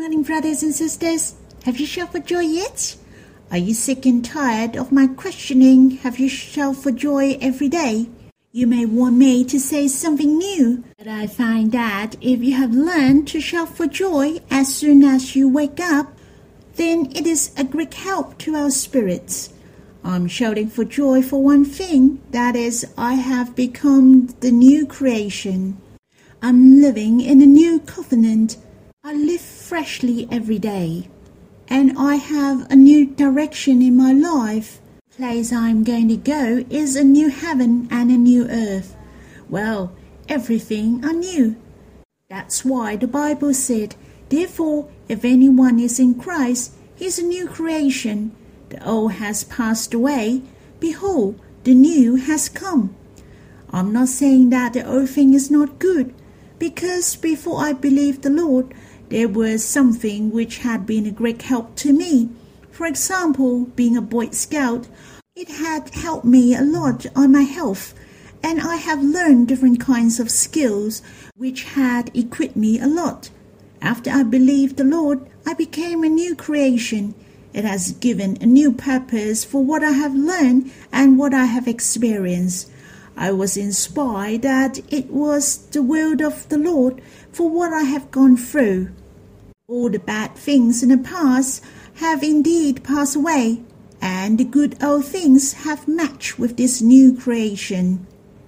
Morning, brothers and sisters. Have you shouted for joy yet? Are you sick and tired of my questioning? Have you shouted for joy every day? You may want me to say something new, but I find that if you have learned to shout for joy as soon as you wake up, then it is a great help to our spirits. I'm shouting for joy for one thing, that is, I have become the new creation. I'm living in a new covenant. I live freshly every day, and I have a new direction in my life. The place I'm going to go is a new heaven and a new earth. Well, everything are new. That's why the Bible said, therefore, if anyone is in Christ, he is a new creation. The old has passed away. Behold, the new has come. I'm not saying that the old thing is not good, because before I believed the Lord, there was something which had been a great help to me. For example, being a Boy Scout, it had helped me a lot on my health, and I have learned different kinds of skills which had equipped me a lot. After I believed the Lord, I became a new creation. It has given a new purpose for what I have learned and what I have experienced. I was inspired that it was the will of the Lord for what I have gone through. All the bad things in the past have indeed passed away, and the good old things have matched with this new creation.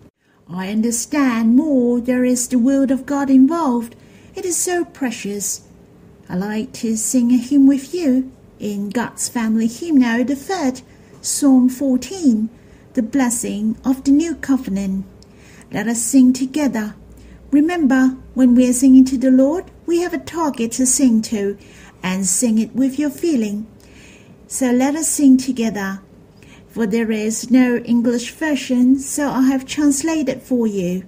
I understand more there is the will of God involved. It is so precious. I like to sing a hymn with you in God's Family Hymnal, the 3rd, Psalm 14, the blessing of the new covenant. Let us sing together. Remember, when we are singing to the Lord, we have a target to sing to, and sing it with your feeling. So let us sing together. For there is no English version, so I have translated for you.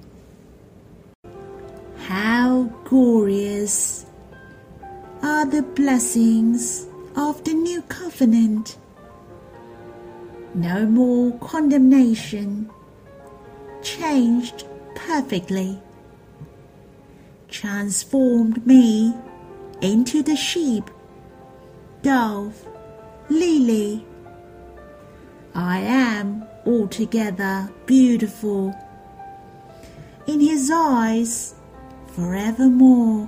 How glorious are the blessings of the new covenant. No more condemnation, changed perfectly, transformed me into the sheep, dove, lily. I am altogether beautiful in his eyes forevermore.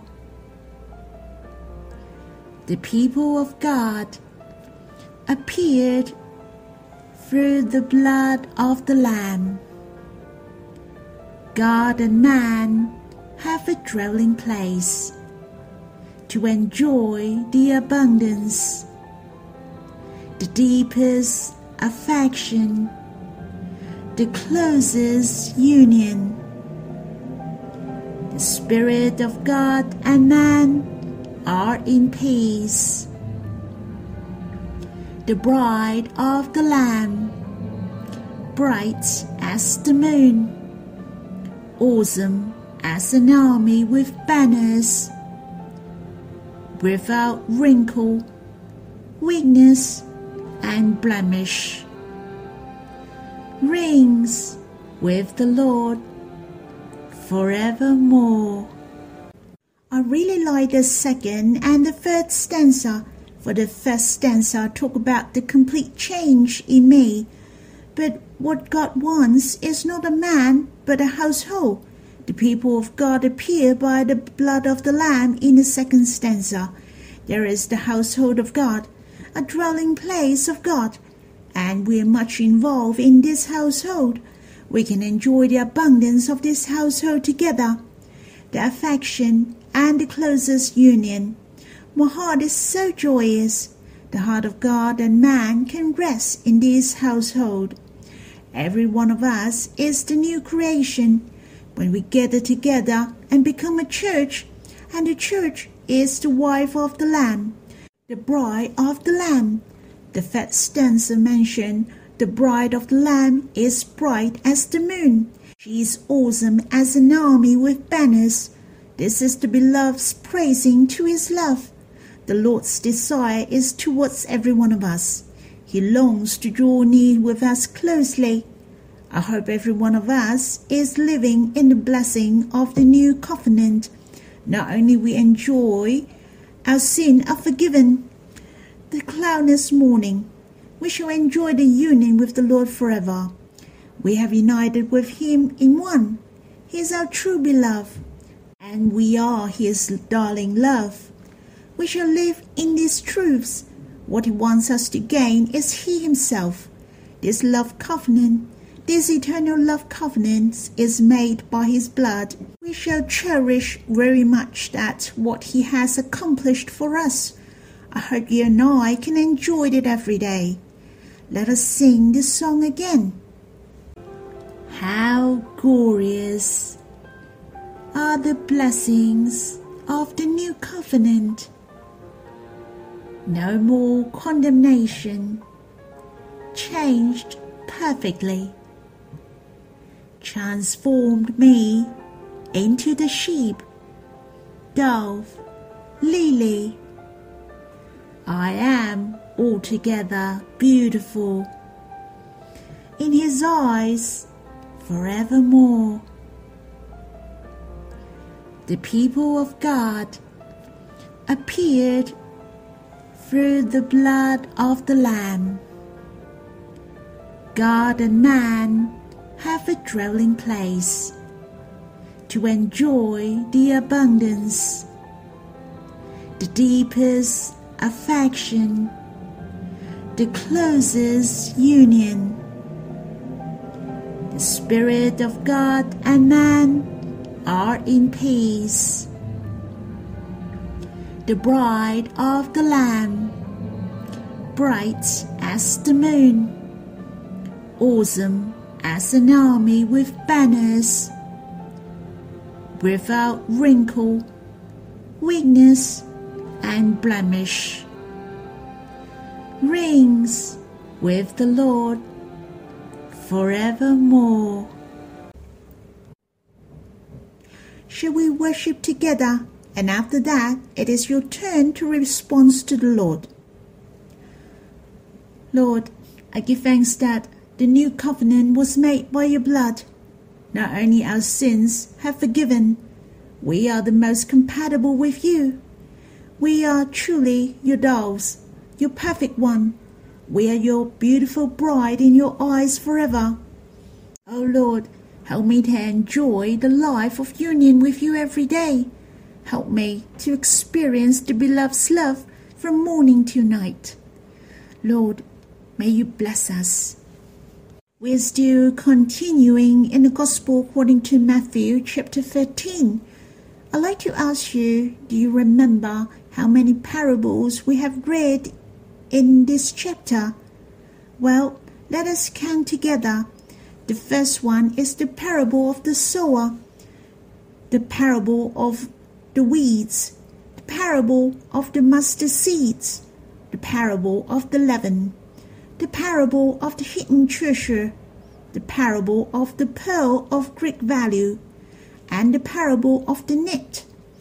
The people of God appeared through the blood of the Lamb. God and man have a dwelling place to enjoy the abundance, the deepest affection, the closest union. The Spirit of God and man are in peace. The bride of the Lamb, bright as the moon, awesome as an army with banners, without wrinkle, weakness, and blemish, reigns with the Lord forevermore. I really like the 2nd and the 3rd stanza. For the 1st stanza talk about the complete change in me. But what God wants is not a man, but a household. The people of God appear by the blood of the Lamb in the 2nd stanza. There is the household of God, a dwelling place of God, and we are much involved in this household. We can enjoy the abundance of this household together, the affection and the closest union. My heart is so joyous. The heart of God and man can rest in this household. Every one of us is the new creation. When we gather together and become a church, and the church is the wife of the Lamb, the bride of the Lamb. The 3rd stanza mentioned the bride of the Lamb is bright as the moon. She is awesome as an army with banners. This is the beloved's praising to his love. The Lord's desire is towards every one of us. He longs to draw near with us closely. I hope every one of us is living in the blessing of the new covenant. Not only we enjoy our sins are forgiven. The cloudless morning, we shall enjoy the union with the Lord forever. We have united with him in one. He is our true beloved, and we are his darling love. We shall live in these truths. What he wants us to gain is he himself. This love covenant, this eternal love covenant is made by his blood. We shall cherish very much that what he has accomplished for us. I hope you and I can enjoy it every day. Let us sing this song again. How glorious are the blessings of the new covenant. No more condemnation, changed perfectly, transformed me into the sheep, dove, lily. I am altogether beautiful in his eyes forevermore. The people of God appeared through the blood of the Lamb. God and man have a dwelling place to enjoy the abundance, the deepest affection, the closest union. The Spirit of God and man are in peace. The bride of the Lamb, bright as the moon, awesome as an army with banners, without wrinkle, weakness, and blemish, reigns with the Lord forevermore. Shall we worship together? And after that, it is your turn to respond to the Lord. Lord, I give thanks that the new covenant was made by your blood. Not only our sins have forgiven, we are the most compatible with you. We are truly your doves, your perfect one. We are your beautiful bride in your eyes forever. Oh Lord, help me to enjoy the life of union with you every day. Help me to experience the beloved's love from morning to night. Lord, may you bless us. We're still continuing in the Gospel according to Matthew chapter 13. I'd like to ask you, do you remember how many parables we have read in this chapter? Well, let us count together. The first one is the parable of the sower, the parable of the weeds, the parable of the mustard seeds, the parable of the leaven, the parable of the hidden treasure, the parable of the pearl of great value, and the parable of the net.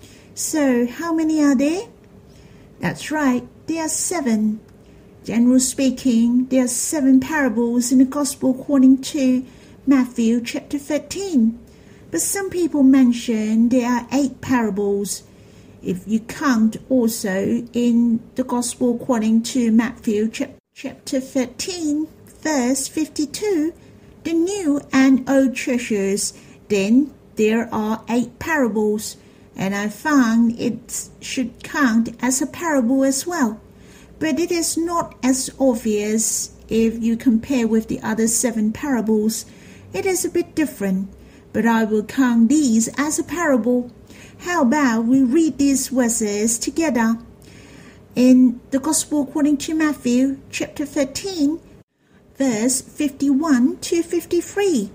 So, how many are there? That's right, there are 7. Generally speaking, there are 7 parables in the Gospel according to Matthew chapter 13. But some people mention there are 8 parables. If you count also in the Gospel according to Matthew chapter 13, verse 52, the new and old treasures, then there are 8 parables, and I found it should count as a parable as well. But it is not as obvious if you compare with the other 7 parables. It is a bit different, but I will count these as a parable. How about we read these verses together? In the Gospel according to Matthew chapter 13, verse 51 to 53.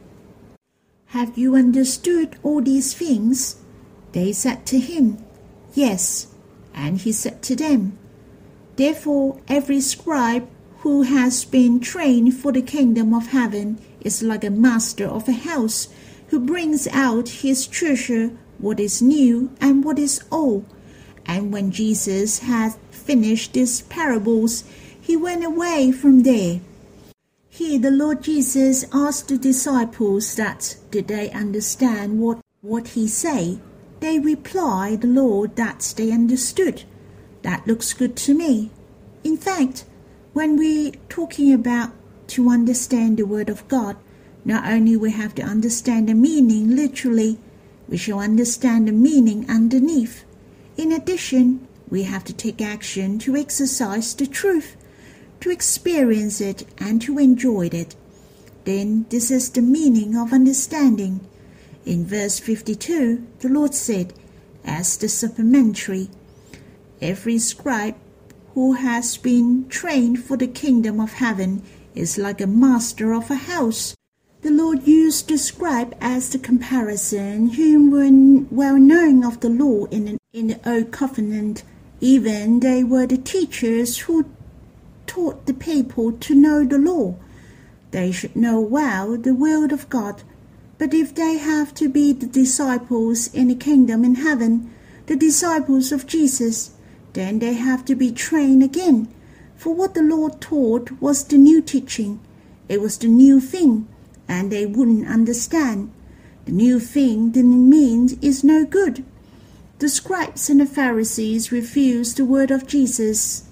Have you understood all these things? They said to him, Yes. And he said to them, Therefore every scribe who has been trained for the kingdom of heaven is like a master of a house, who brings out his treasure, what is new and what is old. And when Jesus had finished these parables, he went away from there. Here the Lord Jesus asked the disciples that did they understand what he said. They replied the Lord that they understood. That looks good to me. In fact, when we're talking about to understand the Word of God, not only we have to understand the meaning literally, we shall understand the meaning underneath. In addition, we have to take action to exercise the truth, to experience it and to enjoy it. Then this is the meaning of understanding. In verse 52, the Lord said, as the supplementary, every scribe who has been trained for the kingdom of heaven is like a master of a house. The Lord used the scribe as the comparison, whom were well known of the law in the Old Covenant. Even they were the teachers who taught the people to know the law. They should know well the will of God. But if they have to be the disciples in the kingdom in heaven, the disciples of Jesus, then they have to be trained again. For what the Lord taught was the new teaching. It was the new thing, and they wouldn't understand. The new thing didn't mean it's no good. The scribes and the Pharisees refused the word of Jesus.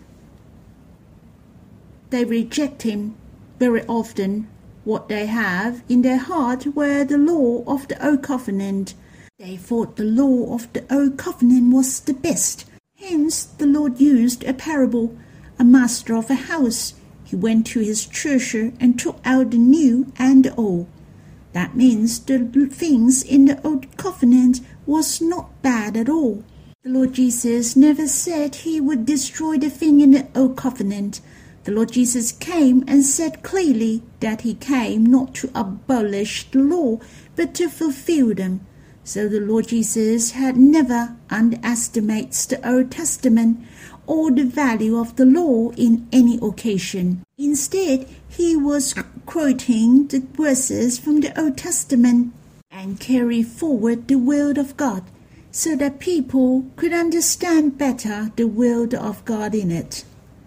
They reject him very often. What they have in their heart were the law of the Old Covenant. They thought the law of the Old Covenant was the best. Hence the Lord used a parable. A master of a house, he went to his treasure and took out the new and the old. That means the things in the Old Covenant was not bad at all. The Lord Jesus never said he would destroy the thing in the Old Covenant. The Lord Jesus came and said clearly that he came not to abolish the law, but to fulfill them. So the Lord Jesus had never underestimated the Old Testament or the value of the law in any occasion. Instead, he was quoting the verses from the Old Testament and carry forward the will of God so that people could understand better the will of God in it.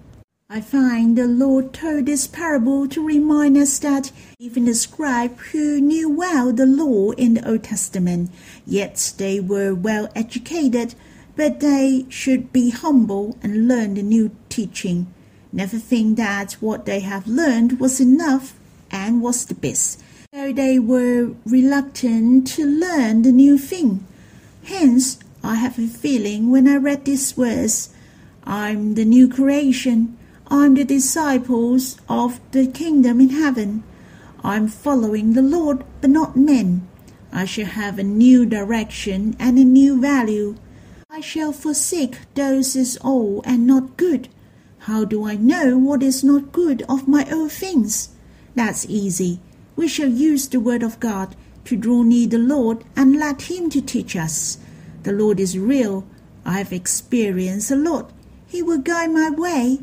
I find the Lord told this parable to remind us that even the scribes who knew well the law in the Old Testament, yet they were well educated, but they should be humble and learn the new teaching. Never think that what they have learned was enough and was the best. So they were reluctant to learn the new thing. Hence, I have a feeling when I read this verse, I'm the new creation. I'm the disciples of the kingdom in heaven. I'm following the Lord, but not men. I shall have a new direction and a new value. I shall forsake those is old and not good. How do I know what is not good of my old things? That's easy. We shall use the word of God to draw near the Lord and let him to teach us. The Lord is real. I have experienced a lot. He will guide my way.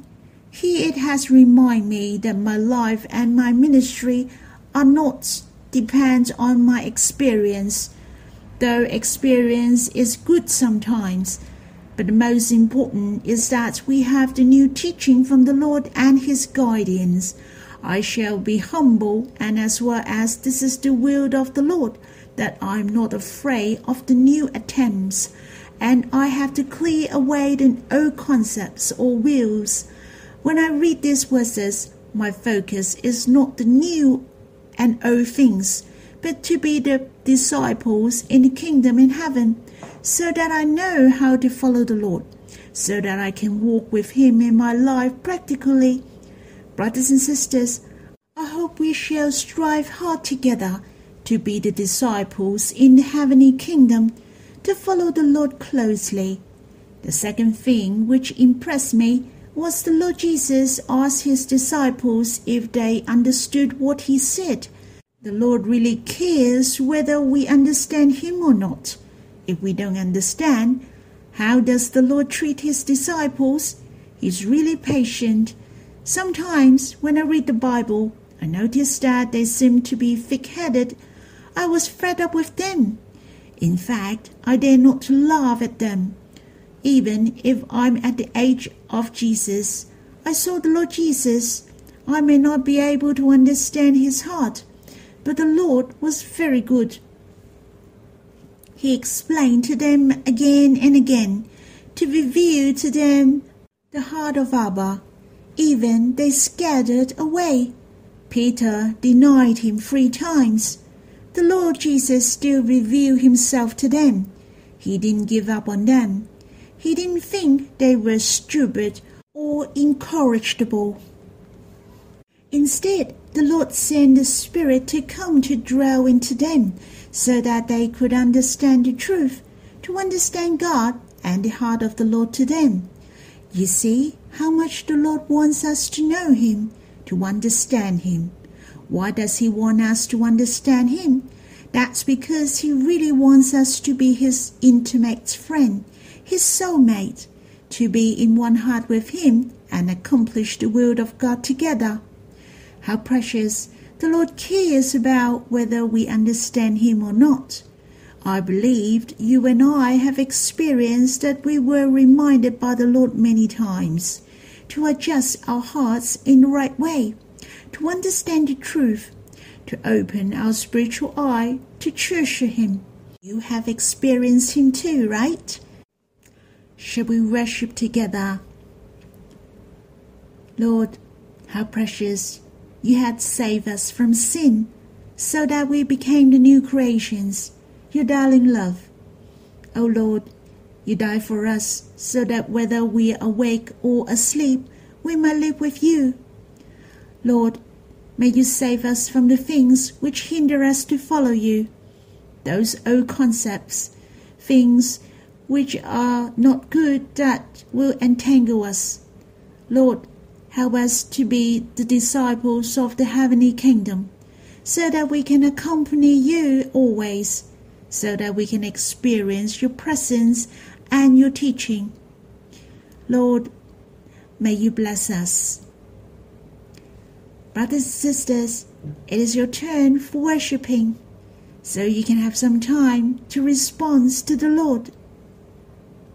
It has reminded me that my life and my ministry are not depend on my experience, though experience is good sometimes. But the most important is that we have the new teaching from the Lord and his guidance. I shall be humble, and as well as this is the will of the Lord, that I am not afraid of the new attempts, and I have to clear away the old concepts or wills. When I read these verses, my focus is not the new and old things, but to be the disciples in the kingdom in heaven, so that I know how to follow the Lord, so that I can walk with him in my life practically. Brothers and sisters, I hope we shall strive hard together to be the disciples in the heavenly kingdom, to follow the Lord closely. The second thing which impressed me was the Lord Jesus asked his disciples if they understood what he said. The Lord really cares whether we understand him or not. If we don't understand, how does the Lord treat his disciples? He's really patient. Sometimes when I read the Bible, I notice that they seem to be thick-headed. I was fed up with them. In fact, I dare not to laugh at them. Even if I'm at the age of Jesus, I saw the Lord Jesus. I may not be able to understand his heart, but the Lord was very good. He explained to them again and again to reveal to them the heart of Abba. Even they scattered away. Peter denied him 3 times. The Lord Jesus still revealed himself to them. He didn't give up on them. He didn't think they were stupid or incorrigible. Instead, the Lord sent the Spirit to come to dwell into them so that they could understand the truth, to understand God and the heart of the Lord to them. You see how much the Lord wants us to know Him, to understand Him. Why does He want us to understand Him? That's because He really wants us to be His intimate friend, His soulmate, to be in one heart with Him and accomplish the will of God together. How precious! The Lord cares about whether we understand Him or not. I believed you and I have experienced that we were reminded by the Lord many times to adjust our hearts in the right way, to understand the truth, to open our spiritual eye, to treasure Him. You have experienced Him too, right? Shall we worship together? Lord, how precious! You had saved us from sin, so that we became the new creations, your darling love. O Lord, you died for us, so that whether we are awake or asleep, we may live with you. Lord, may you save us from the things which hinder us to follow you, those old concepts, things which are not good that will entangle us. Lord, help us to be the disciples of the heavenly kingdom, so that we can accompany you always, so that we can experience your presence and your teaching. Lord, may you bless us. Brothers and sisters, it is your turn for worshiping, so you can have some time to respond to the Lord.